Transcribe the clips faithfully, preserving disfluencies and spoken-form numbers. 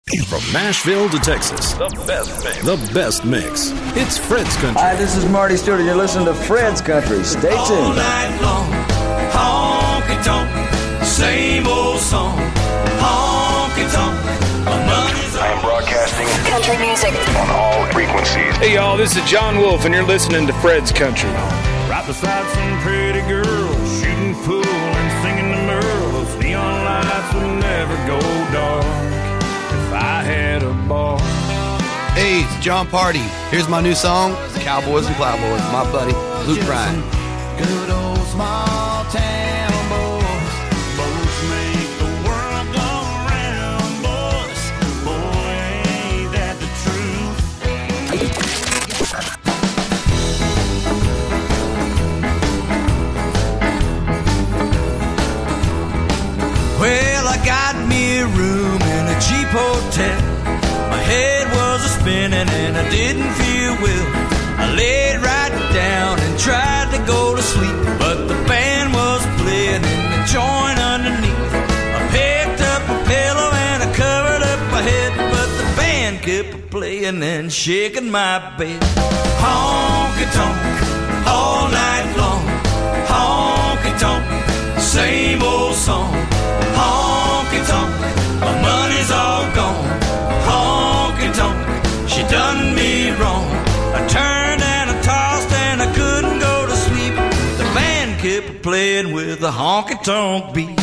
From Nashville to Texas, the best mix. The best mix. It's Fred's Country. Hi, this is Marty Stewart, and you're listening to Fred's Country. Stay tuned. All night long, honky tonk, same old song, honky tonk. I am broadcasting country music on all frequencies. Hey y'all, this is John Wolf, and you're listening to Fred's Country. Right beside some pretty girls, shooting pool and singing the Merles. Neon lights would never go dark if I had a bar. Hey, it's John Party. Here's my new song, Cowboys and Plowboys. My buddy, Luke Bryan. Good old small town boys, boats make the world go round, boys. Boy, ain't that the truth. Well, I got me a room in a cheap hotel. My head was a spinning and I didn't feel well. I laid right down and tried to go to sleep, but the band was playing in the joint underneath. I picked up a pillow and I covered up my head, but the band kept playing and shaking my bed. Honky tonk, all night long. Honky tonk, same old song. Honky tonk, my money's all gone. Honky tonk, she done me wrong. I turned and I tossed and I couldn't go to sleep. The band kept playing with a honky tonk beat.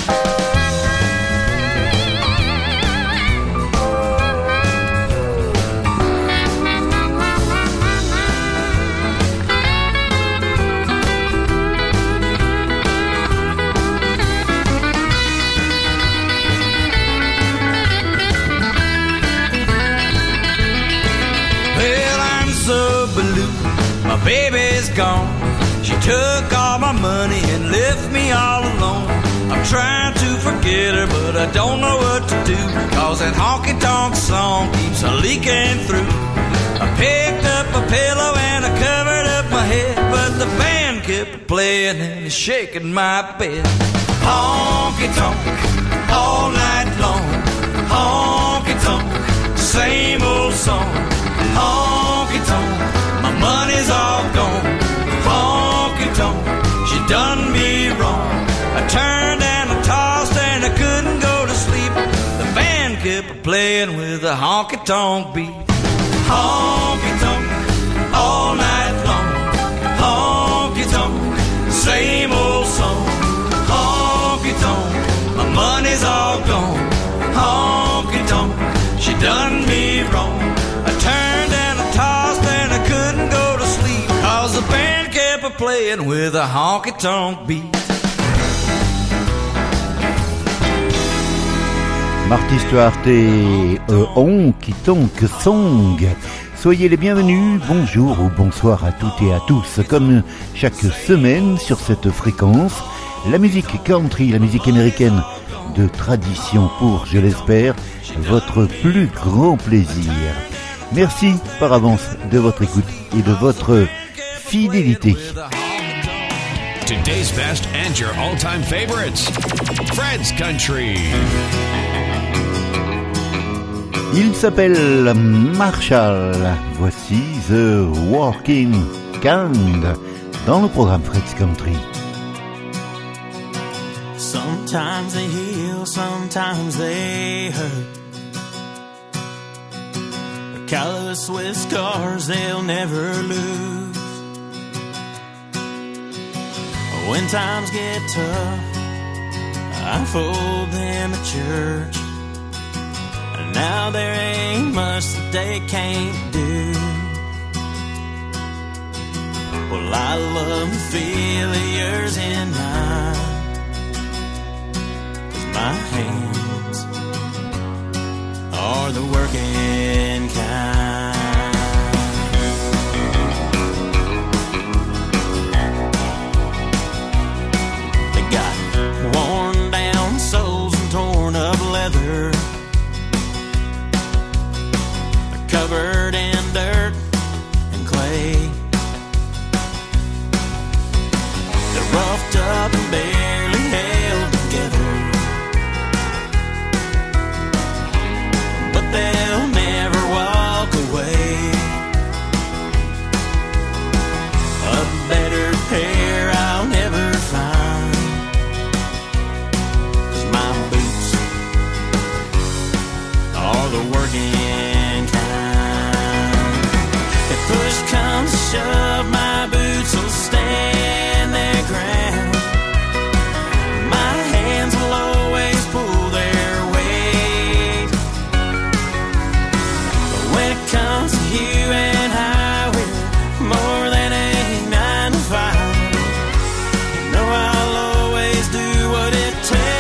My baby's gone. She took all my money and left me all alone. I'm trying to forget her, but I don't know what to do, cause that honky-tonk song keeps a leaking through. I picked up a pillow and I covered up my head, but the band kept playing and shaking my bed. Honky-tonk, all night long. Honky-tonk, same old song. Honky-tonk, my money's all gone. Honky-tonk, she done me wrong. I turned and I tossed and I couldn't go to sleep. The band kept playing with a honky-tonk beat. Honky-tonk, all night long. Honky-tonk, same old song. Honky-tonk, my money's all gone. Honky-tonk, she done me wrong. I turned and I tossed and I couldn't go to sleep, cause the band kept playing with a honky-tonk beat. Marty Stuart et euh, Honky Tonk Song. Soyez les bienvenus, bonjour ou bonsoir à toutes et à tous. Comme chaque semaine sur cette fréquence, la musique country, la musique américaine de tradition pour, je l'espère, votre plus grand plaisir. Merci par avance de votre écoute et de votre fidélité. Today's best and your all-time favorites. Fred's Country. Il s'appelle Marshall. Voici The Working Kind dans le programme Fred's Country. Sometimes they heal, sometimes they hurt. Callous with scars they'll never lose. When times get tough, I fold them at church. And now there ain't much that they can't do. Well, I love the feel of yours in mine, 'cause my hands are the working kind. They got worn down soles and torn up leather, they're covered in dirt and clay. They're roughed up and barely held together, but they're the working kind. If push comes to shove, my boots will stand their ground. My hands will always pull their weight. But when it comes to you and I, we're more than a nine to five. You know I'll always do what it takes.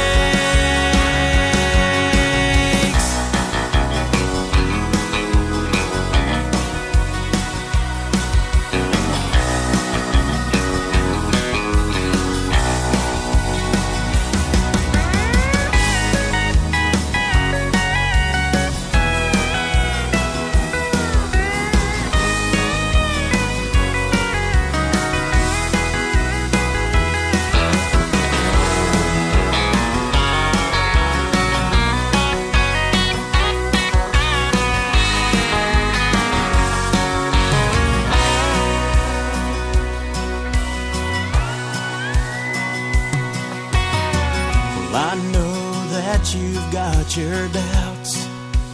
I know that you've got your doubts,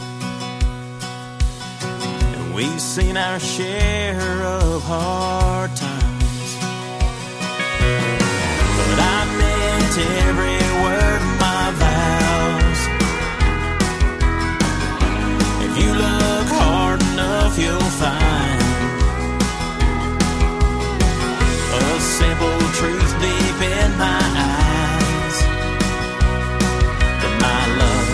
and we've seen our share of hard times. But I meant every word of my vows. If you look hard enough, you'll find a simple truth deep in my eyes. My love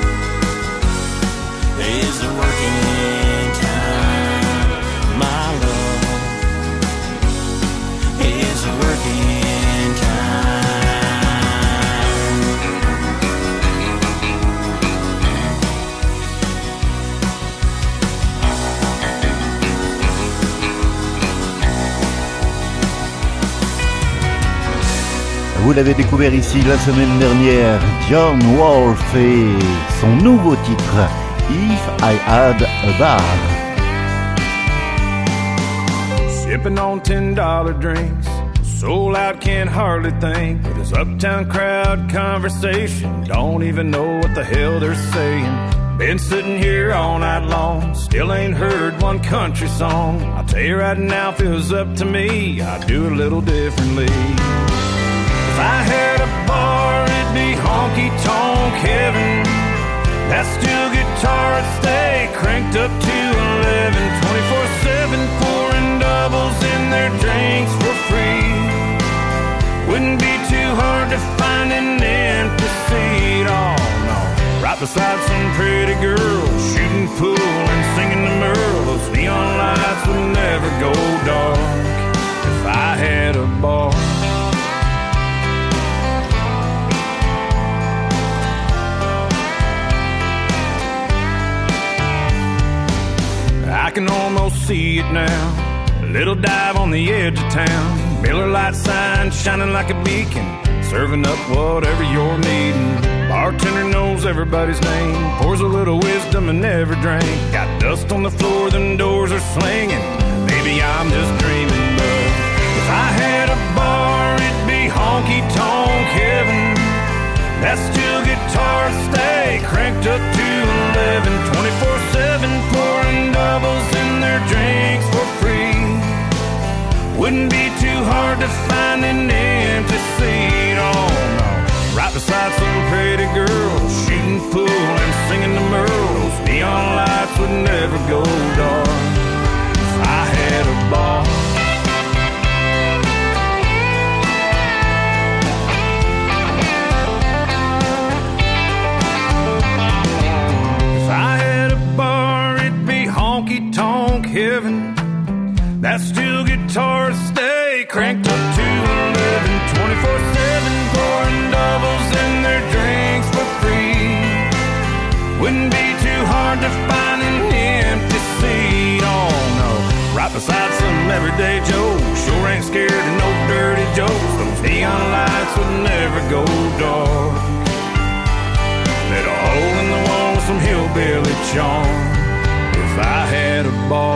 is the working kind. My love is the working kind. Vous l'avez découvert ici la semaine dernière, John Wolfe et son nouveau titre, If I Had a Bar. Sipping on ten dollar drinks, soul out, can't hardly think. With this uptown crowd conversation, don't even know what the hell they're saying. Been sitting here all night long, still ain't heard one country song. I'll tell you right now, if it was up to me, I'd do it a little differently. If I had a bar, it'd be honky-tonk heaven. That steel guitar would stay cranked up to eleven, twenty-four seven, pouring doubles in their drinks for free. Wouldn't be too hard to find an empty seat, oh no. Right beside some pretty girl, shooting pool and singing to Merle. Those neon lights would never go dark if I had a bar. I can almost see it now. A little dive on the edge of town. Miller Lite sign shining like a beacon, serving up whatever you're needing. Bartender knows everybody's name, pours a little wisdom in every drink. Got dust on the floor, them doors are slinging. Maybe I'm just dreaming, but if I had a bar, it'd be honky-tonk heaven. That steel guitar would stay cranked up to eleven, twenty-four seven, pouring doubles in their drinks for free. Wouldn't be too hard to find an empty seat, oh no. Right beside some pretty girl, shooting pool and singing to Merle. Those neon lights would never go dark if I had a bar. Honky-tonk heaven. That steel guitar stay cranked up to eleven, twenty-four seven, pouring doubles in their drinks for free. Wouldn't be too hard to find an empty seat, oh no. Right beside some everyday Joe, sure ain't scared of no dirty jokes. Those neon lights would never go dark. Let a hole in the wall with some hillbilly charm. If I had a bar,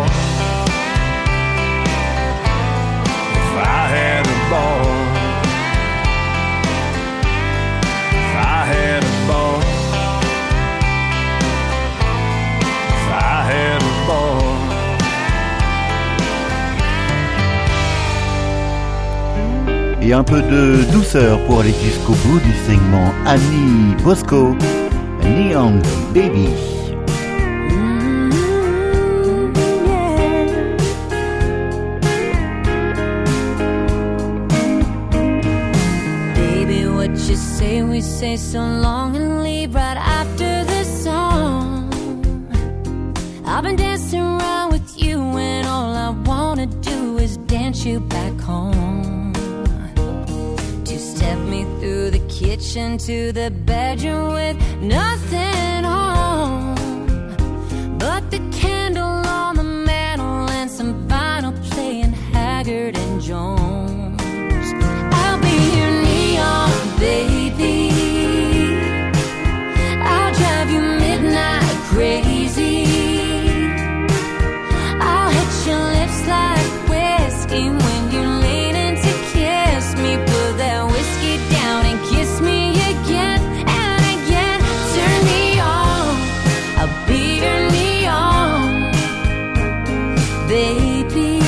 if I had a bar, if I had a bar, Et un peu de douceur pour aller jusqu'au bout du segment. Annie Bosco, Neon Baby. We say so long and leave right after the song. I've been dancing around with you and all I wanna do is dance you back home. Two-step me through the kitchen to the bedroom with nothing on but the candle on the mantle and some vinyl playing Haggard and Jones. I'll be your neon baby, I'll drive you midnight crazy, I'll hit your lips like whiskey when you're leaning to kiss me. Put that whiskey down and kiss me again and again. Turn me on, I'll be your neon baby.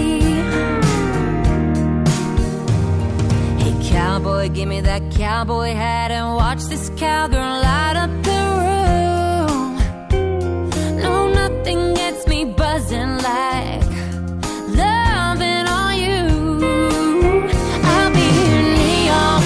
Hey cowboy, give me that cowboy hat and watch this cowgirl light up the room. No, nothing gets me buzzing like loving on you. I'll be your neon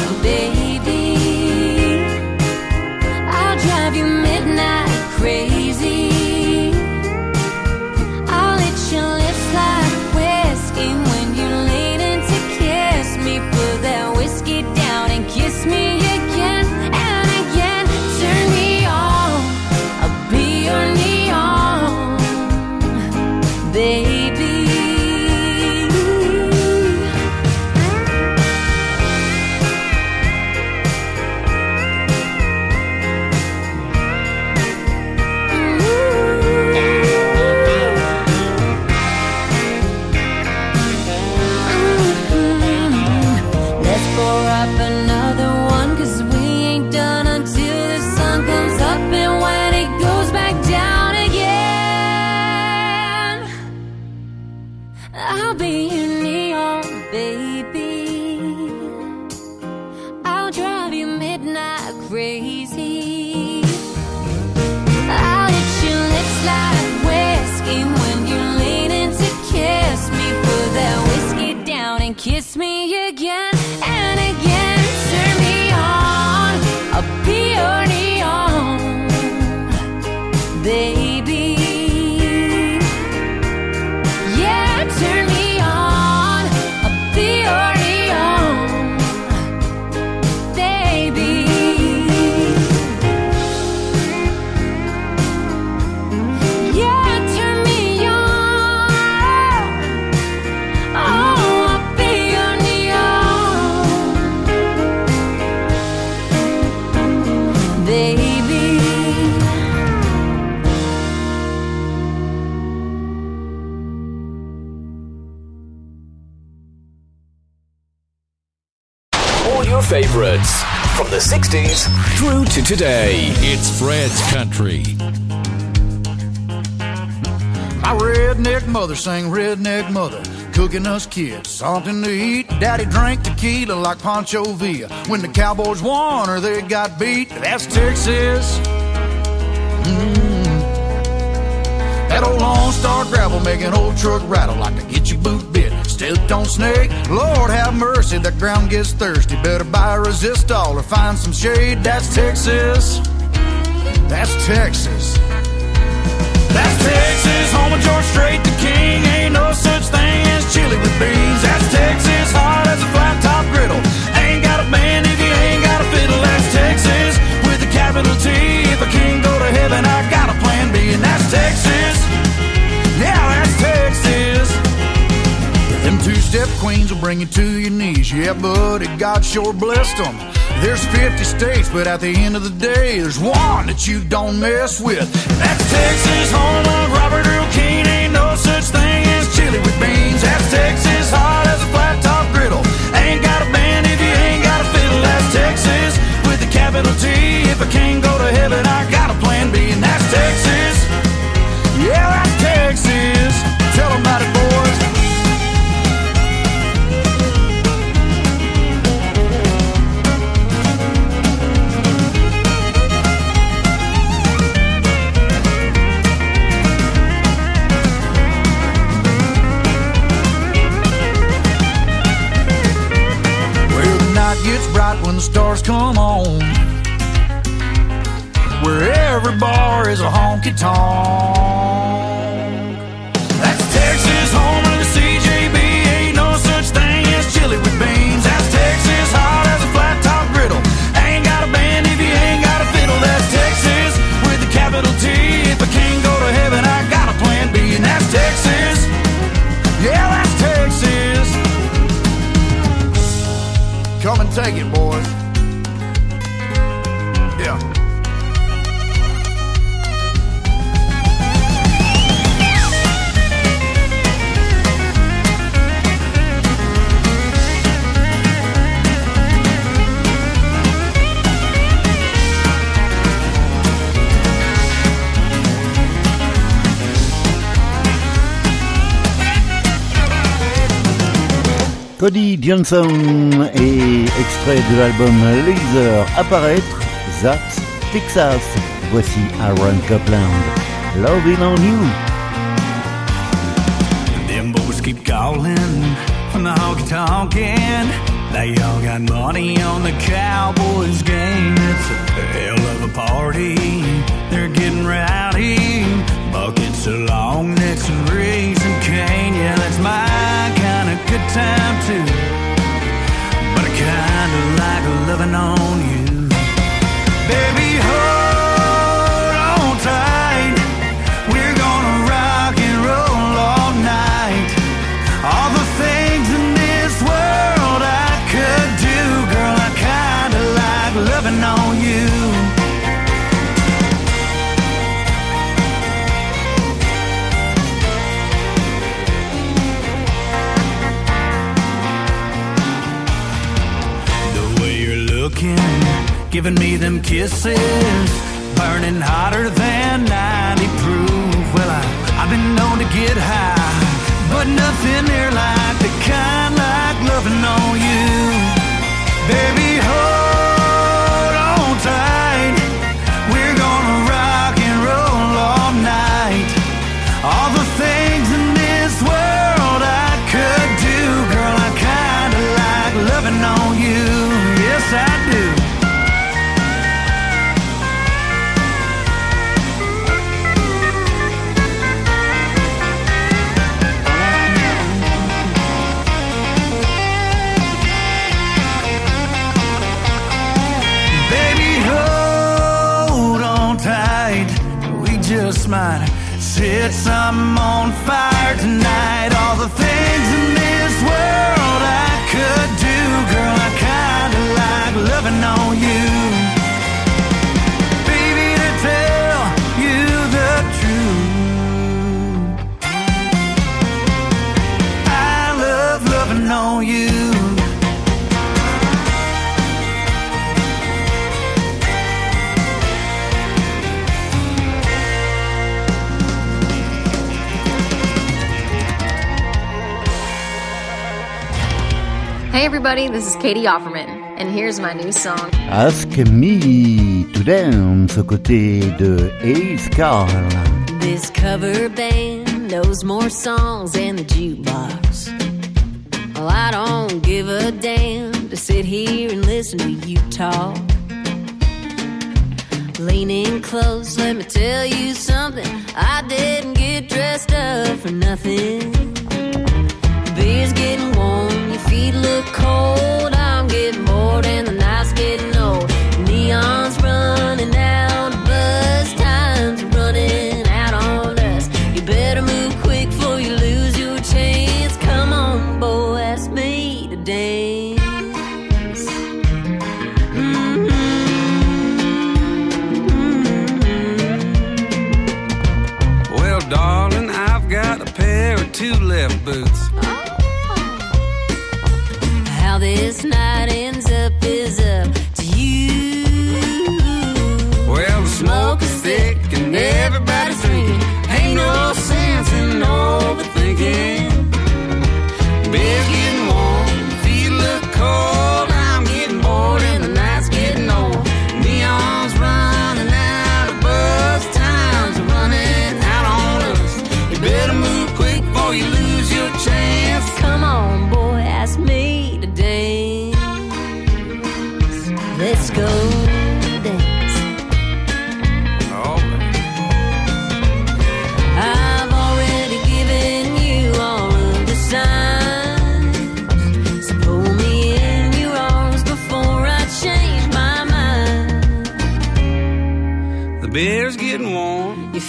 baby, I'll drive you midnight crazy, I'll hit your lips like whiskey when you're leaning to kiss me. Put that whiskey down and kiss me again and again. Turn me on, I'll be your neon baby. Let's pour up another one, 'cause we ain't done until the sun comes up and when it goes back down again. I'll be your neon baby, I'll drive you midnight crazy, I'll hit your lips like whiskey when you're leaning to kiss me. Put that whiskey down and kiss me again and again. Turn me on, I'll be your neon baby. Yeah, turn me on, I'll be your neon baby. Yeah, turn me on, oh, I'll be your neon baby. All your favorites from the sixties through to today. It's Fred's Country. My redneck mother sang redneck mother, cooking us kids something to eat. Daddy drank tequila like Pancho Villa. When the Cowboys won or they got beat, that's Texas. Mm. That old Lone Star gravel making old truck rattle like to get your boot bit. Stepped on snake, Lord have mercy, the ground gets thirsty. Better buy a resistol or find some shade. That's Texas. That's Texas. That's Texas, home of George Strait, the king. Ain't no such thing as chili with beans. That's Texas, hard as a flat top griddle. Ain't got a band if you ain't got a fiddle. That's Texas, with a capital T. If I can't go to heaven, I got a plan B. And that's Texas, yeah, that's Texas. Them two-step queens will bring you to your knees. Yeah, buddy, God sure blessed them. There's fifty states, but at the end of the day, there's one that you don't mess with. That's Texas, home of Robert Earl Keen. Ain't no such thing as chili with beans. That's Texas, hard as a flat top griddle. Ain't got a band if you ain't got a fiddle. That's Texas, with a capital T. If I can't go to heaven, I got a plan B. And that's Texas, yeah, that's Texas. Tell them about it, boys. honky tonk. That's Texas, home of the C J B. Ain't no such thing as chili with beans. That's Texas, hot as a flat top griddle. Ain't got a band if you ain't got a fiddle. That's Texas with a capital T. If I can't go to heaven, I got a plan B. And that's Texas. Yeah, that's Texas. Come and take it, boys. Yeah. Cody Johnson et extrait de l'album Laser apparaître, That's Texas. Voici Aaron Copland, Loving on You. Them boys keep calling from the honky tonkin'. They all got money on the Cowboys game. It's a hell of a party. They're getting rowdy. Buckets of long necks and raisin cane. Yeah, that's my kind of good time too. But I kinda like loving on you. Baby, hold on tight. We're gonna rock and roll all night. All the things in this world I could do, girl, I kinda like loving on you. Giving me them kisses, burning hotter than ninety proof. Well, I, I've been known to get high, but nothing near like the kind like loving on you. Baby, hold on tight. We're gonna rock and roll all night. All the things in this world I could do, girl, I kinda like loving on you. Yes, I do. Just might set something on fire tonight. All the things in this world I could do, girl, I kinda like loving on you. Baby, to tell you the truth, I love loving on you. Hey everybody, this is Katie Offerman, and here's my new song. Ask Me to Dance aux côtés de Ace Carl. This cover band knows more songs than the jukebox. Well, I don't give a damn to sit here and listen to you talk. Leaning close, let me tell you something. I didn't get dressed up for nothing. Beer's getting warm, your feet look cold. I'm getting bored and the night's getting old. Neon's running out, buzz time's running out on us. You better move quick before you lose your chance. Come on, boy, ask me to dance. Mm-hmm. Mm-hmm. Well, darling, I've got a pair of two left boots. How this night ends up is up to you. Well, the smoke is thick and everybody's drinking. Ain't no sense in overthinking. Bed's getting warm, feet look cold. I'm getting bored and the night's getting old. Neon's running out of buzz, time's running out on us. You better move quick before you lose your chance. Come on, boy, ask me to dance. Let's go dance. All right.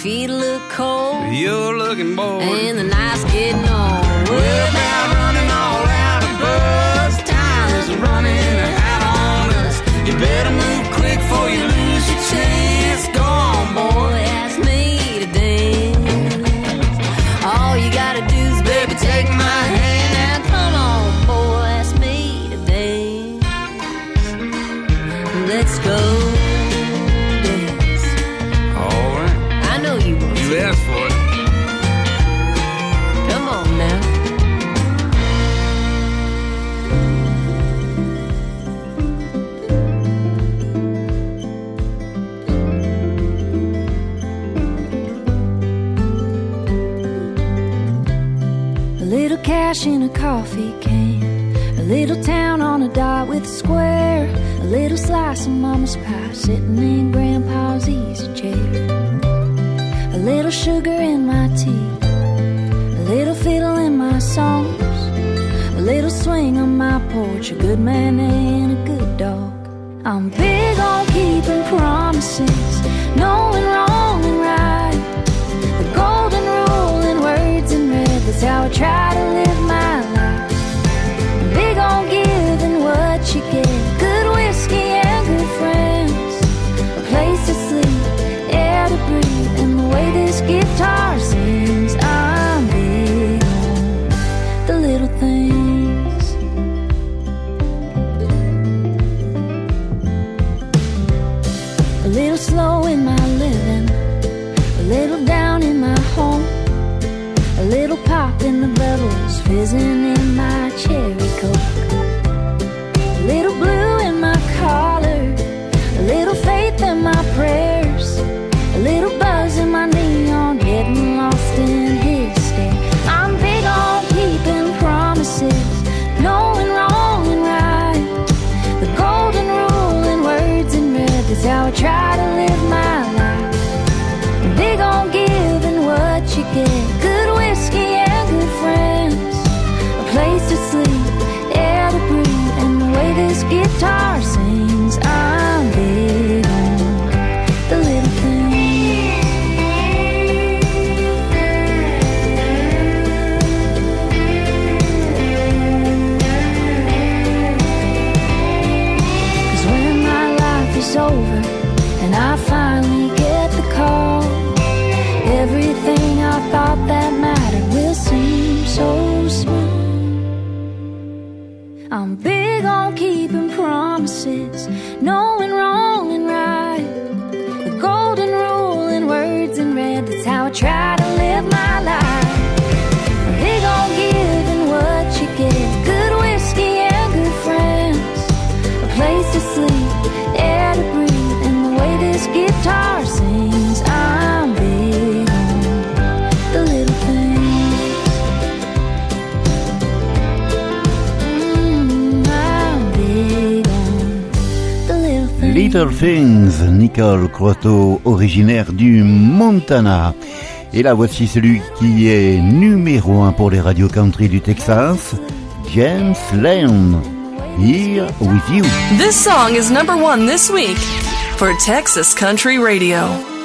feet look cold. You're looking bored. And the night's getting on. We're about running all out of buzz. Time is running out on us. You better move quick before you lose your chance. Go on, boy, ask me to dance. All you gotta do is, baby, take my hand. Now come on, boy, ask me to dance. Let's go dance. All right. I know you want You to. asked for it. Come on now. A little cash in a coffee can, a little town on a dot with a square, a little slice of mama's pie sitting in grandpa's easy chair, a little sugar in my tea, a little fiddle in my songs, a little swing on my porch, a good man and a good dog. I'm big on keeping promises, knowing wrong and right, the golden rule in words in red, that's how I try to live my life. I'm big on giving what you get, good whiskey and good friends, a place to sleep, air to breathe, and the way this guitar sings. I'm big on the little things. A little slow in my living, a little down in my home, a little pop in the bubbles fizzing in my cherry coke, a little blue in my collar, a little faith in my prayers, a little buzz in my neon, getting lost in his stare. I'm big on keeping promises, knowing wrong and right, the golden rule in words in red, that's how I try to live my life. I'm big on giving what you get, good whiskey and good friends, a place to sleep, air to breathe, and the way this guitar sings. I'm big on the little things. 'Cause when my life is over and I finally get the call, everything I thought that mattered will seem so small. I'm big on keeping promises, knowing wrong and right, the golden rule in words in red, that's how I try to live my life. I'm big on giving what you get, good whiskey and good friends, a place to sleep, air to breathe, and the way this guitar sings. I'm big on the little things. Mm, I'm big on the little things. Little Things, Nicole Croteau, originaire du Montana. Et là, voici celui qui est numéro un pour les radios country du Texas, James Lane, Here With You. This song is number one this week for Texas Country Radio.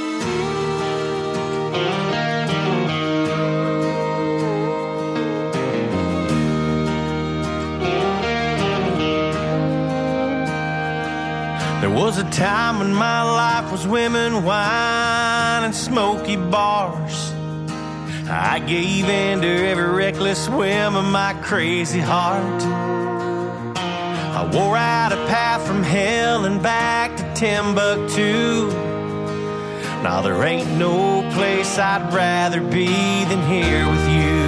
There was a time when my life was women, wine, and smoky bars. I gave in to every reckless whim of my crazy heart. I wore out a path from hell and back to Timbuktu. Now there ain't no place I'd rather be than here with you.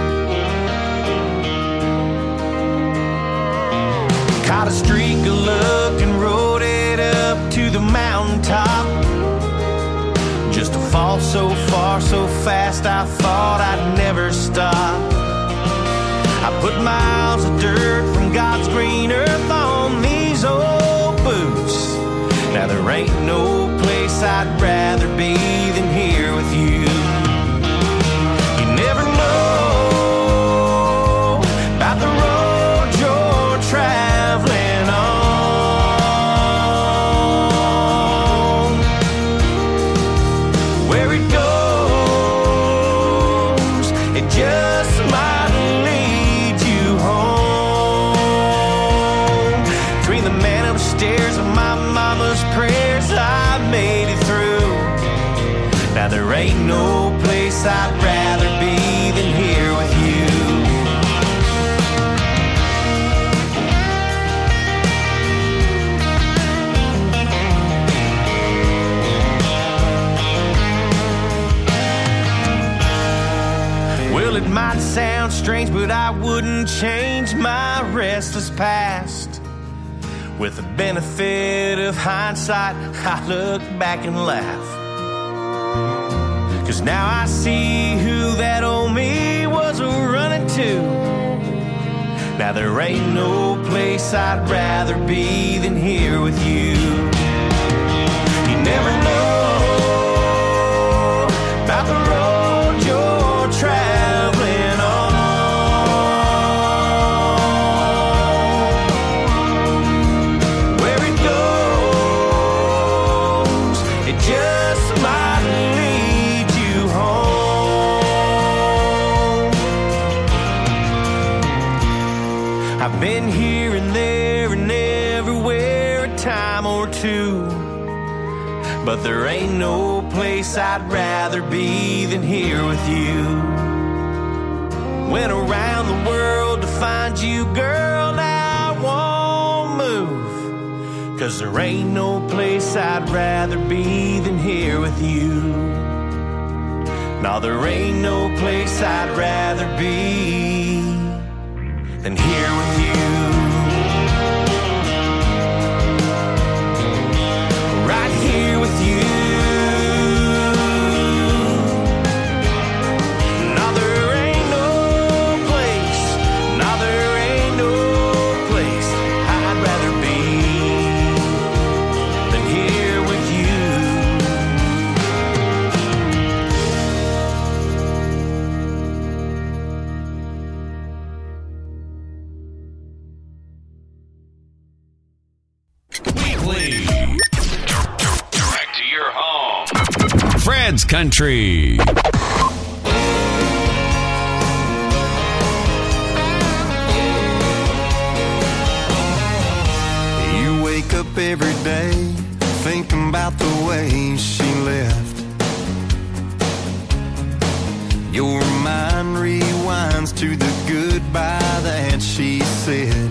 Caught a streak of luck and rode it up to the mountaintop, just to fall so far so fast I thought I'd never stop. I put miles of dirt from God's green earth on these old boots. Now there ain't no place I'd rather be than here with you. You never know about the road you're traveling on, where it goes no place I'd rather be than here with you. Well, it might sound strange, but I wouldn't change my restless past. With the benefit of hindsight, I look back and laugh. 'Cause now I see who that old me was running to. Now there ain't no place I'd rather be than here with you. You never know about the road you're traveling on. Where it goes, it just might lead you home. I've been here and there and everywhere a time or two, but there ain't no place I'd rather be than here with you. Went around the world to find you, girl, now I won't move. 'Cause there ain't no place I'd rather be than here with you. No, there ain't no place I'd rather be than here with you. Right here with you. No, there ain't no place, no, there ain't no place I'd rather be than here with you. Weekly. Direct to your home. Fred's Country. You wake up every day thinking about the way she left. Your mind rewinds to the goodbye that she said.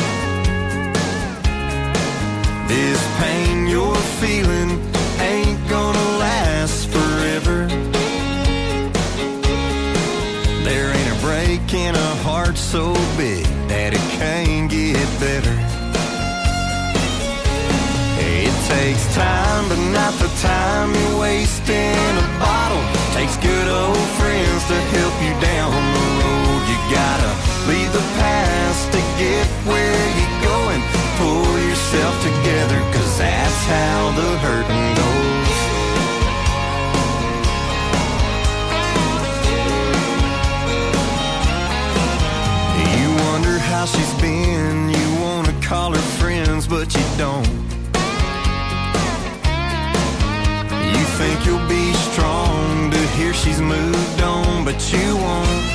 This pain you're feeling ain't gonna last forever. There ain't a break in a heart so big that it can't get better. It takes time, but not the time you waste in a bottle. Takes good old friends to help you down the road. You gotta leave the past to get where you're going. Pull yourself together, 'cause that's how the hurting goes. You wonder how she's been, you wanna call her friends, but you don't. You think you'll be strong to hear she's moved on, but you won't.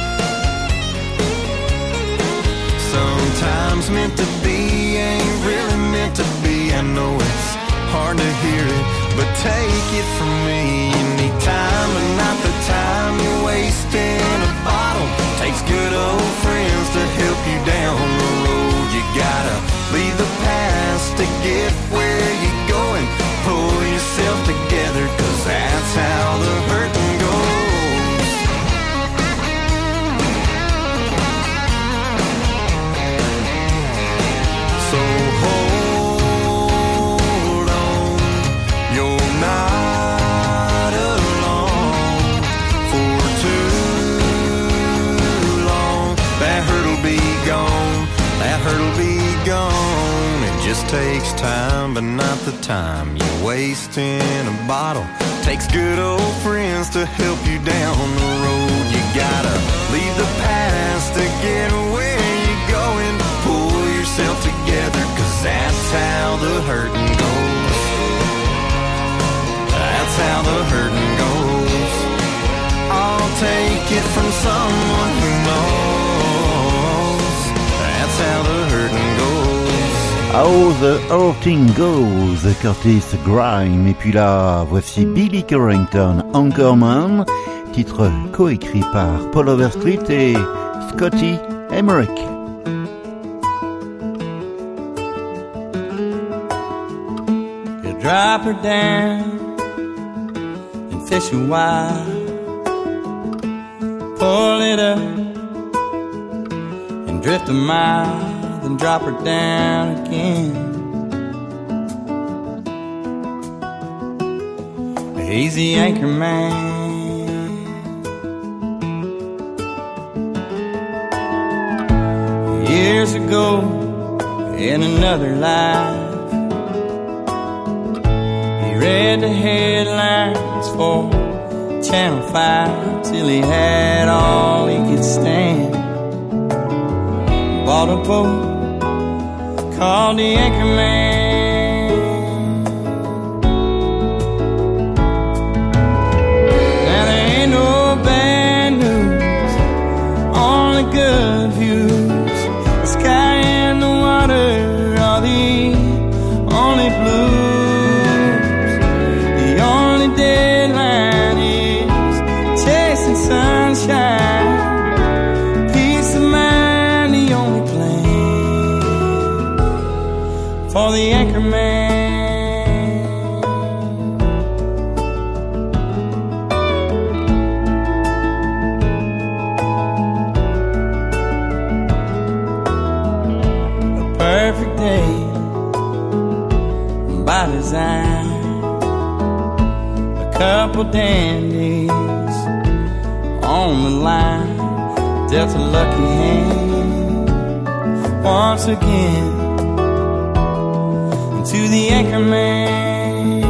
Sometimes meant to be ain't really meant to be. I know it's hard to hear it, but take it from me. You need time, but not the time you waste in a bottle. Takes good old friends to help you down the road. You gotta leave the past to get where you're going. Pull yourself together, 'cause that's how the hurting goes. So hold on, you're not alone for too long. That hurt'll be gone, that hurt'll be gone. It just takes time, but not the time you waste in a bottle. Takes good old friends to help you down the road. You gotta leave the past to get where you're going. Pull yourself together, 'cause that's how the hurting goes. That's how the hurting goes. I'll take it from someone who knows. That's how the hurting goes. How the Whole Thing Goes, Curtis Grime. Et puis là, voici Billy Currington, Anchorman, titre coécrit par Paul Overstreet et Scotty Emmerich. You drop her down and fish a while, pull it up and drift a mile, then drop her down again. Easy anchor man. Years ago, in another life, he read the headlines for Channel five till he had all he could stand. Bought a boat called the Anchorman. Now there ain't no bad news, only good views. The sky and the water are the only blues. The only deadline is chasing sunshine. Peace of mind, the only plan for the Anchorman. A perfect day by design. A couple dandies on the line, dealt a lucky hand once again to the Anchorman.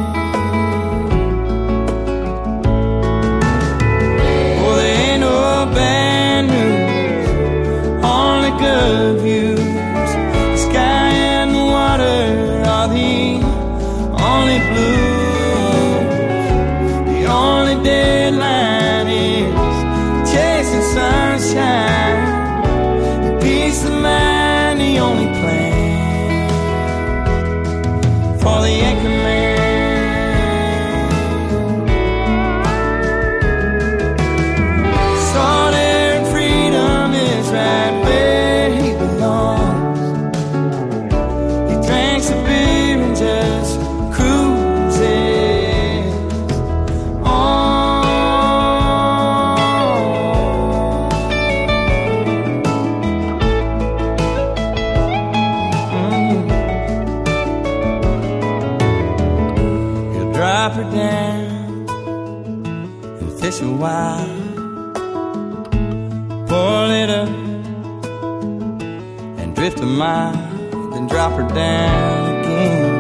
Oh, there ain't no bad news, only good views. The sky and the water are the only blues. The only deadline is chasing sunshine. Peace of mind, the only plan for the Anchorman. Solid freedom is right where he belongs. He drinks a beer and just cruises on. Mm. You drop her down and fish a while, pull it up and drift a mile, then drop her down again.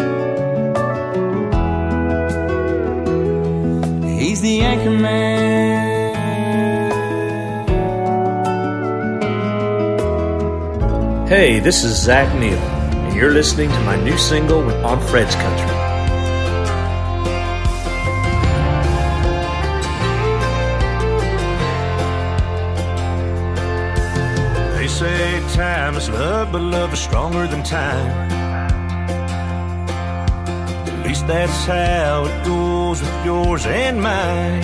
He's the Anchorman. Hey, this is Zach Neal, and you're listening to my new single on Fred's Country. They say time is love, but love is stronger than time. At least that's how it goes with yours and mine.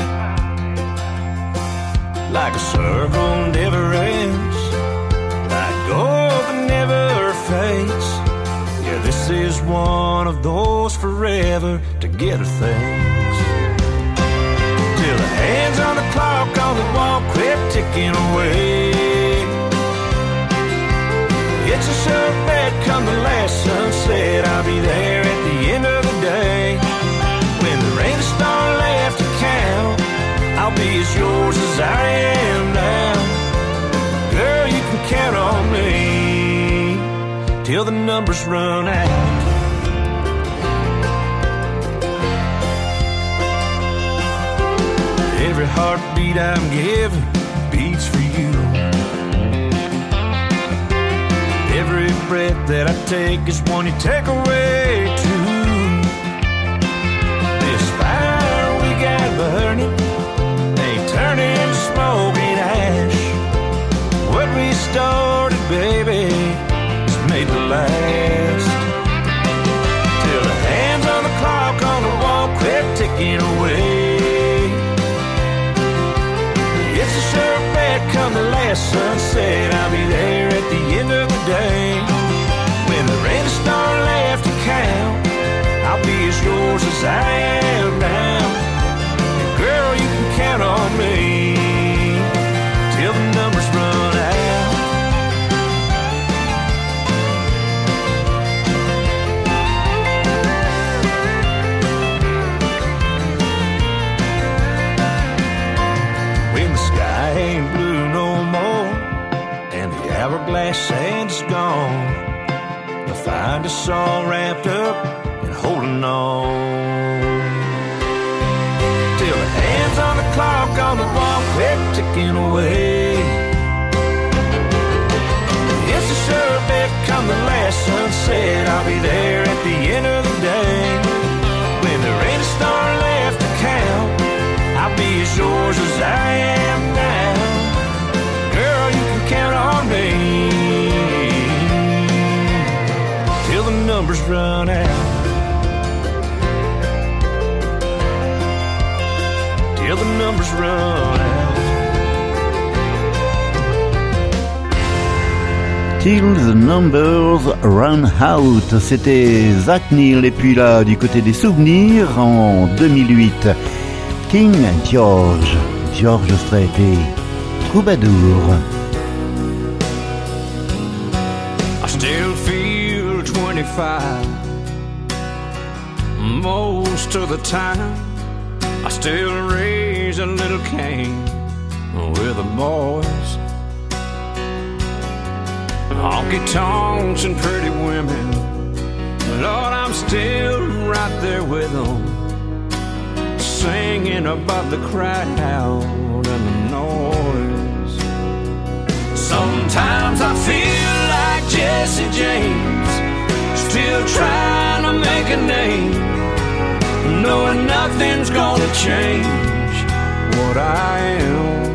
Like a circle never ends, like gold that never fades. Yeah, this is one of those forever together things. Till the hands on the clock on the wall quit ticking away. It's a sure bet come the last sunset, I'll be there at the end of the day. When there ain't a star left to count, I'll be as yours as I am now. Girl, you can count on me till the numbers run out. Every heartbeat I'm giving beats for you. Every breath that I take is one you take away too. This fire we got burning ain't turning to smoke and ash. What we started, baby, is made to last. come the last sunset, I'll be there at the end of the day. When the red star left to count, I'll be as yours as I am now. And girl, you can count on me till the numbers run out. When the sky ain't blue no more and the hourglass sand's gone, you'll find us all wrapped up and holding on. Till the hands on the clock on the wall quit ticking away. It's a sure bet come the last sunset, I'll be there at the end of the day. When there ain't a star left to count, I'll be as yours as I am now. Girl, you can count on me till the numbers run out. Till the numbers run out. Till the numbers run out. C'était Zach Neil. Et puis là, du côté des souvenirs, en deux mille huit, King George, George Strait et Troubadour. I still feel twenty-five most of the time. I still raise a little Cain with the boys. Honky tonks and pretty women, Lord, I'm still right there with them, singing about the crowd and the noise. Sometimes I feel like Jesse James, still trying to make a name, knowing nothing's gonna change what I am.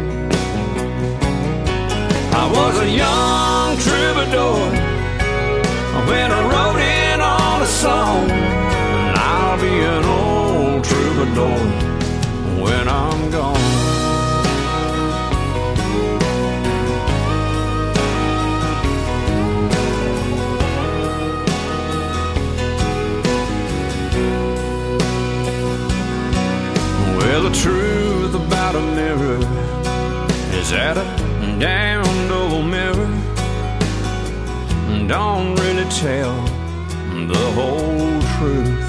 I was a young troubadour when I wrote in on a song, and I'll be an old troubadour when I'm gone. Well, the truth about a mirror is that a damned old mirror don't really tell the whole truth.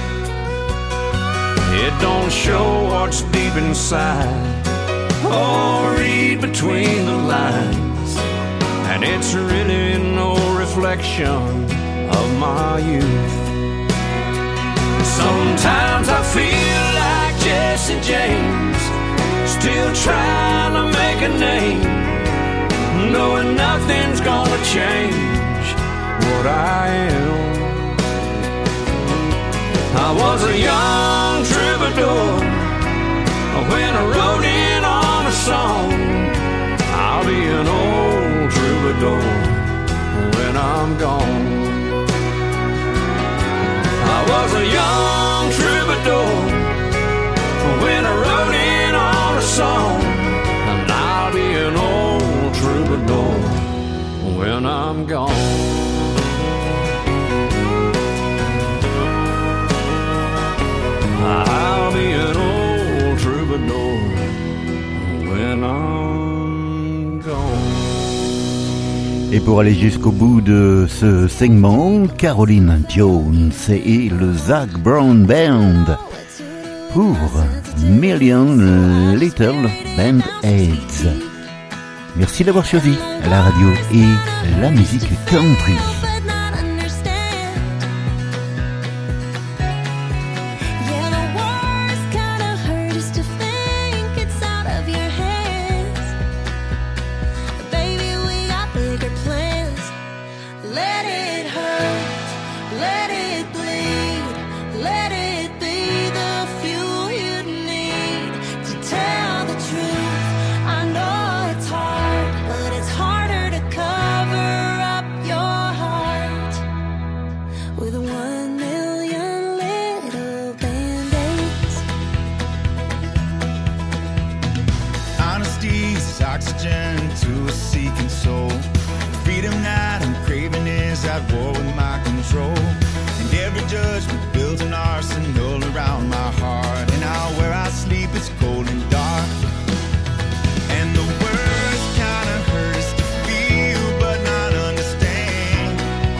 It don't show what's deep inside or read between the lines, and it's really no reflection of my youth. Sometimes I feel like Jesse James, still trying to make a name, knowing nothing's gonna change what I am. I was a young troubadour when I wrote in on a song. I'll be an old troubadour when I'm gone. I was a young troubadour when I wrote in on a song, and I'll be an old troubadour when I'm gone. I'll be an old troubadour when I'm gone. Et pour aller jusqu'au bout de ce segment, Caroline Jones et le Zac Brown Band pour Million Little Band-Aids. Merci d'avoir choisi la radio et la musique country. Harder to cover up your heart. oxygen to a seeking soul. Freedom that I'm craving is at war with my control. And every judgment builds an arsenal around my heart. And now where I sleep it's cold and dark. And the worst kind of hurt is to feel but not understand.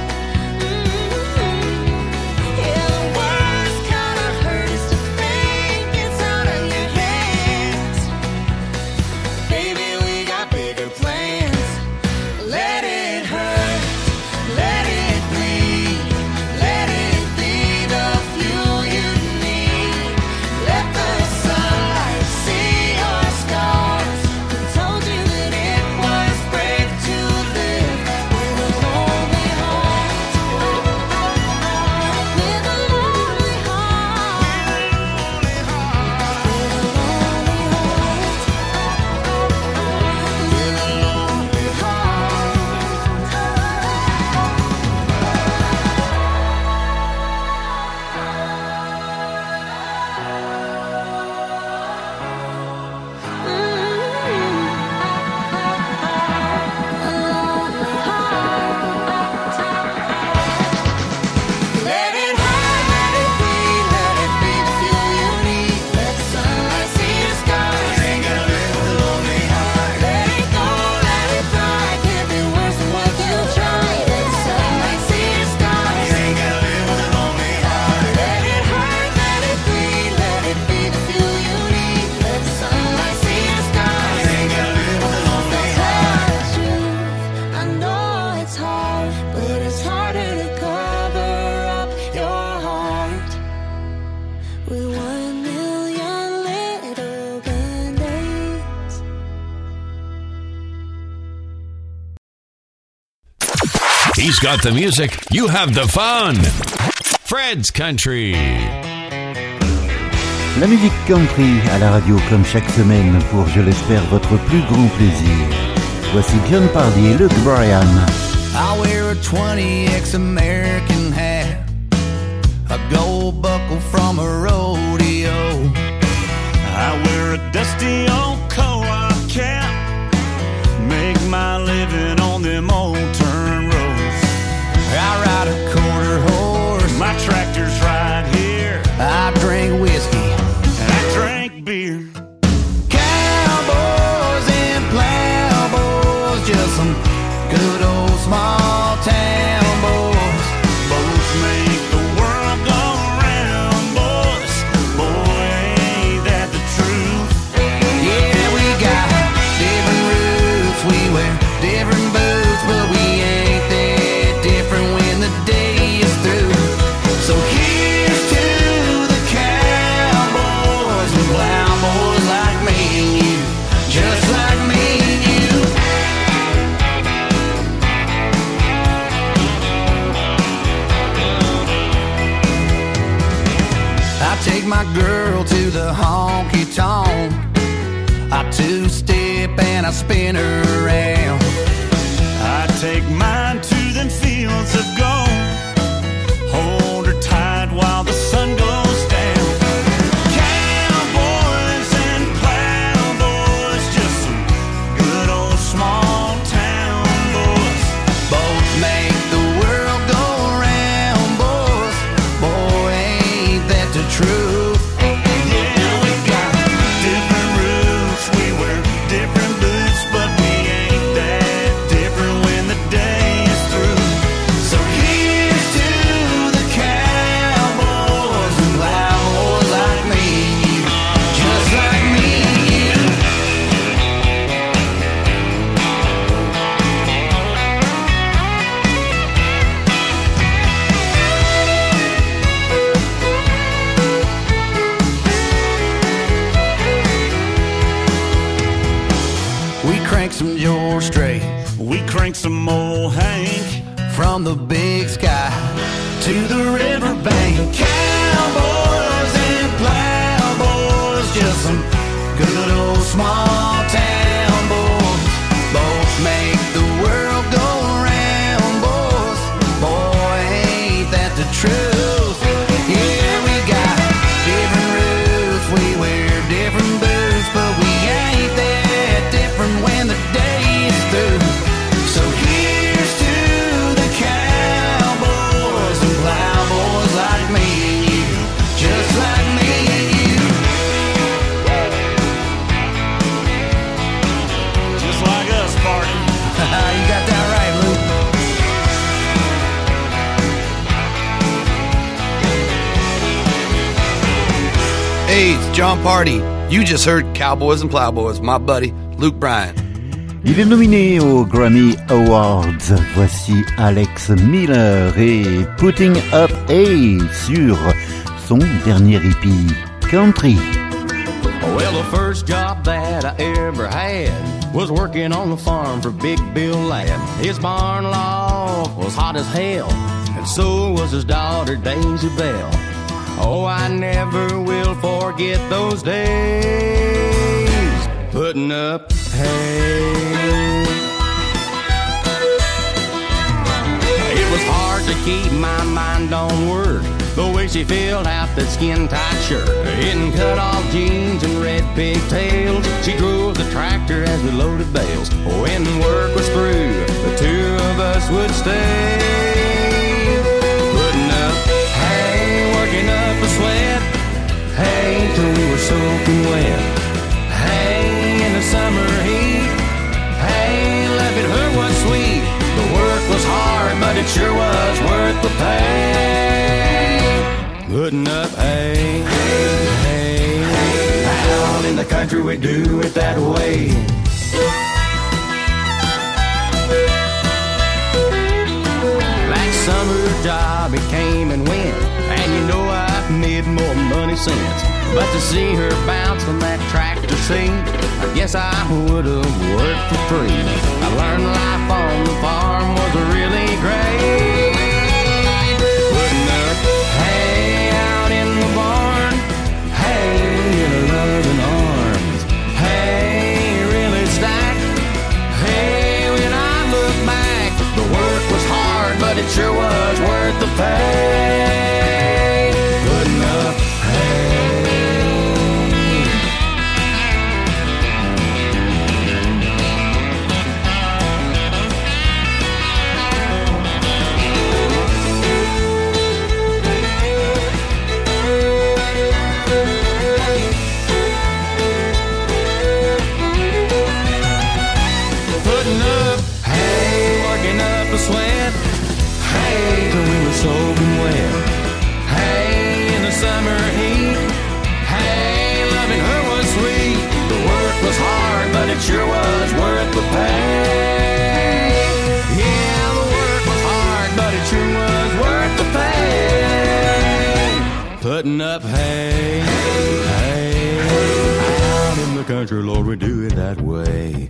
Yeah, the worst kind of hurt is to think it's out of your hands. Baby, we got bigger plans. Let it hurt, let it bleed, let it be the fuel you need. Let the sunlight see your scars. Who told you that it was brave to live with a lonely heart? With a lonely heart. With a lonely heart. With a lonely Let it hurt, let it bleed, let it be the fuel you need. Let the sunlight see your scars. You ain't gotta live with a lonely heart. Let it go, let it fly. Can't be worse than what you tried. Let the sunlight see your scars. You ain't gotta live with a lonely heart. Let it hurt, let it bleed, let it be the fuel you need. Let the sunlight see your scars. You ain't gotta live with a lonely heart. Tell the truth, I know it's hard, but it's harder to cover up your heart with one million little band-aids. He's got the music, you have the fun. Fred's Country. La musique country à la radio comme chaque semaine pour, je l'espère, votre plus grand plaisir. Voici John Pardy et Luke Bryan. I wear a twenty X American hat, a gold buckle from a rodeo. I wear a dusty old co-op cap, make my living on them old turn roads. I ride a quarter horse, My tractor's right here, I drink whiskey. and I drank beer. Cowboys and plowboys, just some good old small town boys. Both make the world go round, boys. Boy, ain't that the truth? Yeah, we got different roots, we wear different boots, but we ain't that different when the day is through. So here's to the cowboys and plowboys like me and you, just like me and you. I take my girl to the honky tonk, I two-step and I spin her around. I take mine to them fields of gold, hold her tight while the sun goes down. Cowboys and plowboys, just some good old small town boys. Both make the world go round, boys. Boy, ain't that the truth? Yeah, we got different roots, we wear different boots, but we ain't that different when the day is through. So here's to the cowboys and plowboys like me and you, just like me and you. We crank some George Strait, We crank some old Hank, from the big sky to the riverbank. Cowboys and plowboys, just some good old small town boys. Both make the world go round, boys. Boy, ain't that the truth? Yeah, we got different roots, we wear different boots, but we ain't that different when Hey, it's John Party. You just heard Cowboys and Plowboys, my buddy Luke Bryan. Il est nominé aux Grammy Awards. Voici Alex Miller et Putting Up A sur son dernier E P, Country. Well, the first job that I ever had was working on the farm for Big Bill Ladd. His barn loft was hot as hell, and so was his daughter Daisy Bell. Oh, I never will forget those days putting up hay. It was hard to keep my mind on work, the way she filled out that skin-tight shirt in cut-off jeans and red pigtails. She drove the tractor as we loaded bales. When work was through, the two of us would stay putting up hay, working up a sweat, hay till we were soaking wet, hay in the summer heat, hay loving her was sweet. The work was hard, but it sure was worth the pay. Putting up hay, hay, hay. Out in the country we do it that way. That summer job it came and went, and you know I've made more money since. But to see her bounce from that tractor seat, I guess I would've worked for free. I learned life on the farm was really great. Putting up hay out in the barn, hay in her loving arms, hay really stacked, hay when I look back. The work was hard, but it sure was worth the pay. Putting up hay. Sweat, hay till we were soaking wet, hay in the summer heat, hay loving her was sweet. The work was hard, but it sure was worth the pay. Yeah, the work was hard, but it sure was worth the pay. Putting up hay, hay, out in the country, Lord, we do it that way.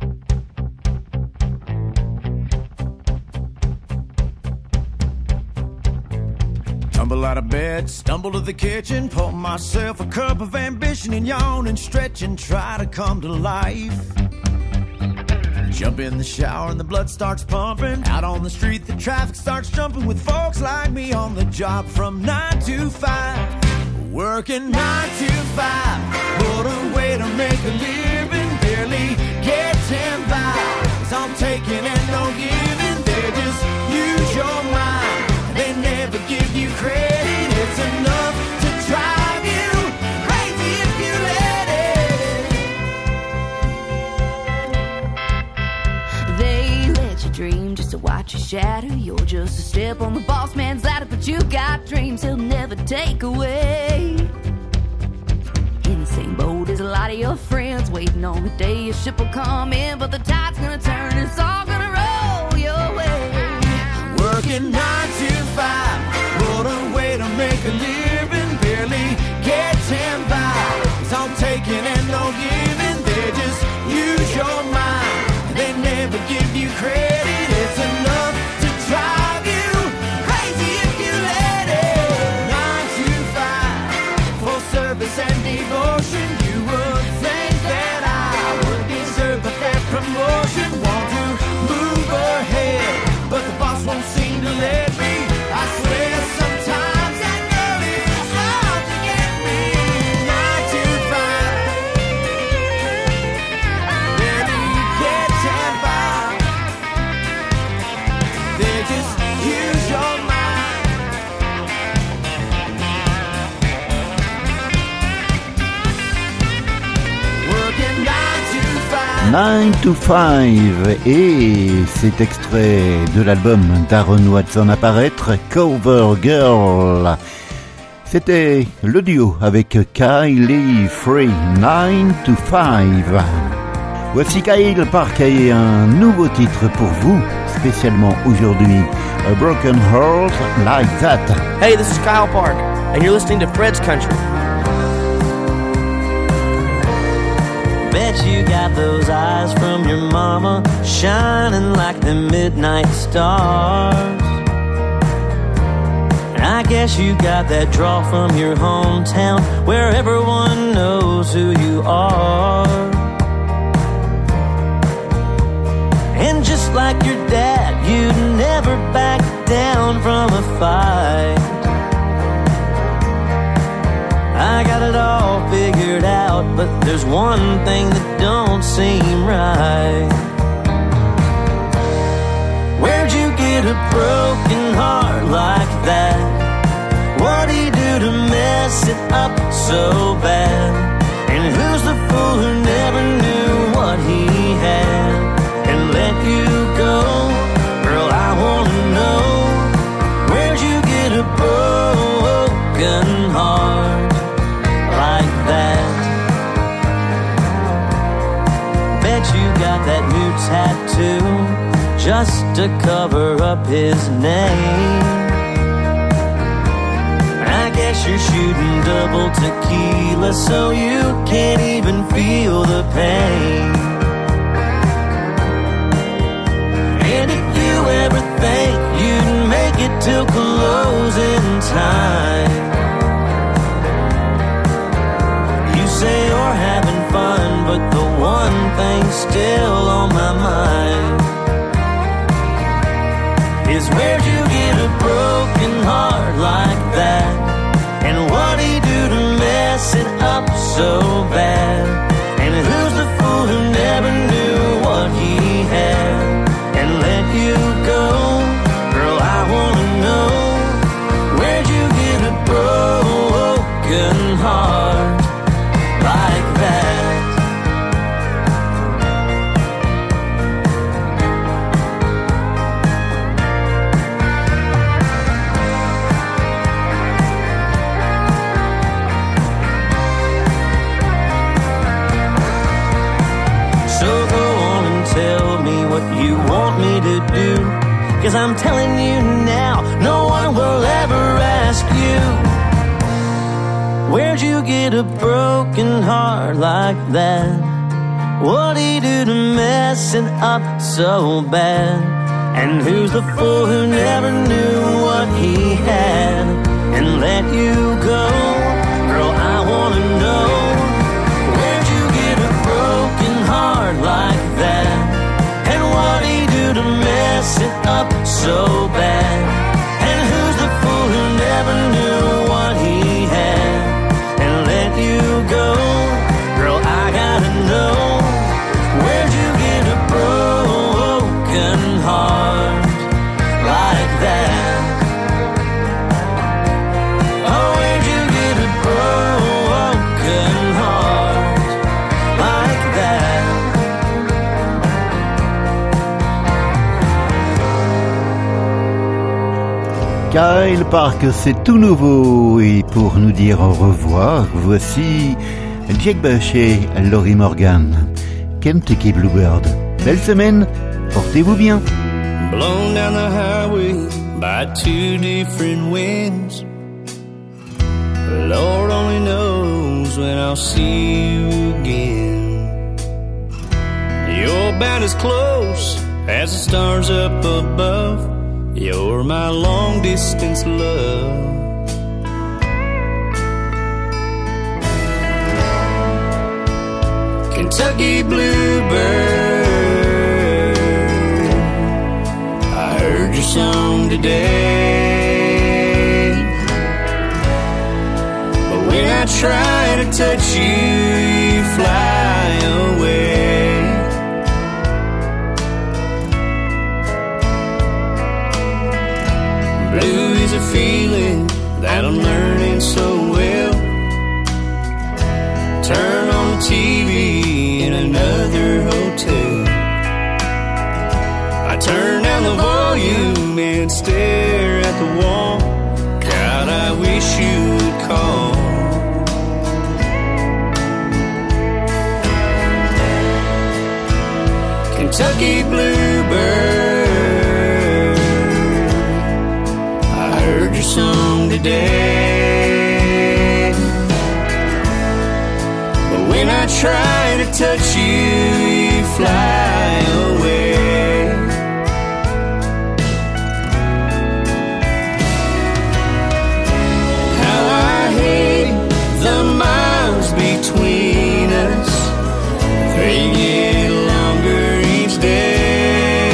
Tumble out of bed, stumble to the kitchen, pour myself a cup of ambition and yawn and stretch and try to come to life. Jump in the shower and the blood starts pumping. Out on the street, the traffic starts jumping with folks like me on the job from nine to five. Working nine to five, what a way to make a living. Barely getting by, it's all taking and no giving. They just use your mind, they never give you credit. It's enough to drive you crazy if you let it. They let you dream just to watch you shatter. You're just a step on the boss man's ladder, but you got dreams he'll never take away. In the same boat as a lot of your friends, waiting on the day your ship will come in, but the tide's gonna turn, it's all gonna roll your way. Working nine to five, what a way to make a living. Barely getting by, it's all taking and no giving. They just use your mind, they never give you credit. It's enough to drive you crazy if you let it. Nine to five, full service and devotion. You would think that I would deserve a fair promotion. Want to move ahead, but the boss won't seem to let me. I swear sometimes I know it's hard to get me. Nine to five, barely getting by. They just use your mind. Working nine to five. nine to five, et cet extrait de l'album d'Aaron Watson à paraître, Cover Girl. C'était le duo avec Kylie Free, nine to five. Voici Kyle Park et un nouveau titre pour vous, spécialement aujourd'hui, A Broken Heart Like That. Hey, this is Kyle Park, and you're listening to Fred's Country. Bet you got those eyes from your mama, shining like the midnight stars. I guess you got that draw from your hometown, where everyone knows who you are. And just like your dad, you'd never back down from a fight. I got it all figured out, but there's one thing that don't seem right. Where'd you get a broken heart like that? What'd he do to mess it up so bad? And who's the fool who never knew what he had and let you go? Girl, I wanna know, where'd you get a broken heart like that? Bet you got that new tattoo just to cover up his name. I guess you're shooting double tequila so you can't even feel the pain. And if you ever think you'd make it till closing time, you say you're having fun, but the one thing's still on my mind is, where'd you get a broken heart like that? And what'd he do to mess it up so bad? And who's the fool who never knew what he had and let you go? Girl, I wanna know, where'd you get a broken heart like that? You want me to do, 'cause I'm telling you now, no one will ever ask you, where'd you get a broken heart like that? What'd he do to mess it up so bad? And who's the fool who never knew what he had and let you go? Girl, I wanna know, where'd you get a broken heart like that? What'd he do to mess it up so bad? And who's the fool who never knew what he had and let you go? Girl, I gotta know, where'd you get a broken heart like that? Oh, where'd you get a broken heart like that? Kyle Park, c'est tout nouveau, et pour nous dire au revoir, voici Jake Bush et Lori Morgan, Kentucky Bluebird. Belle semaine, portez-vous bien. Blown down the highway by two different winds. Lord only knows when I'll see you again. You're about as close as the stars up above. You're my long distance love. Kentucky Bluebird, I heard your song today, but when I try to touch you, you fly away. Blue is a feeling that I'm learning so well. Turn on the T V in another hotel. I turn down the volume and stare at the wall. God, I wish you would Kentucky bluebird, I heard your song today. But when I try to touch you, you fly away. How I hate the miles between us, they get longer each day.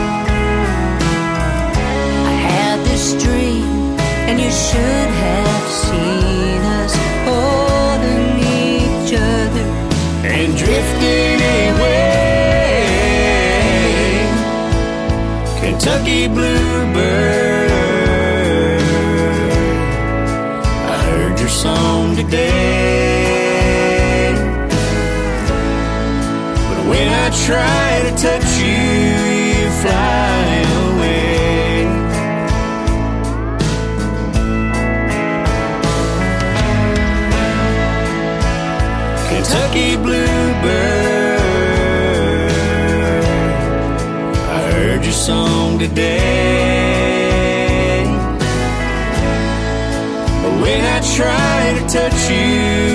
I had this dream, and you should have seen us holding each other and drifting away. Kentucky bluebird, I heard your song today. But when I try to touch you, you fly away. Kentucky bluebird, I heard your song today. But when I try to touch you,